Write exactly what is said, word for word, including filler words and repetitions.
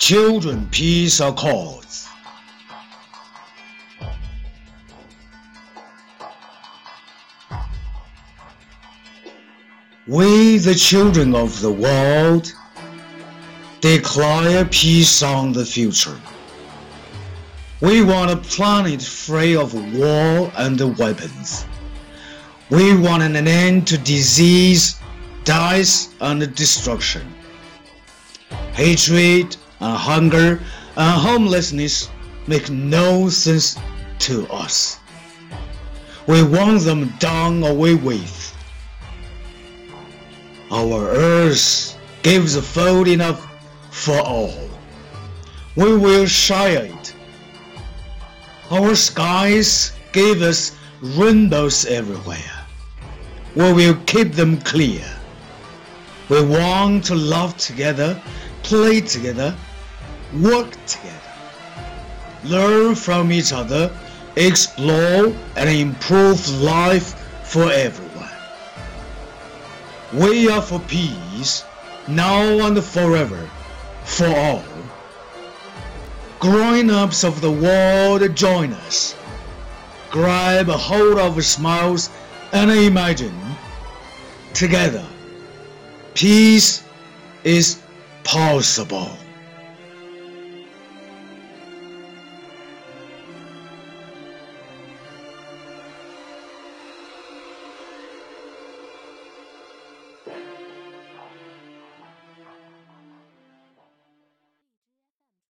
Children Peace Accords. We, the children of the world, declare peace on the future. We want a planet free of war and weapons. We want an end to disease, death, and destruction. Hatred and hunger and homelessness make no sense to us. We want them done away with. Our earth gives food enough for all. We will share it. Our skies give us rainbows everywhere. We will keep them clear. We want to laugh together, play together, work together, learn from each other, explore and improve life for everyone. We are for peace, now and forever, for all. Grown-ups of the world, join us. Grab a hold of smiles and imagine, together, peace is possible.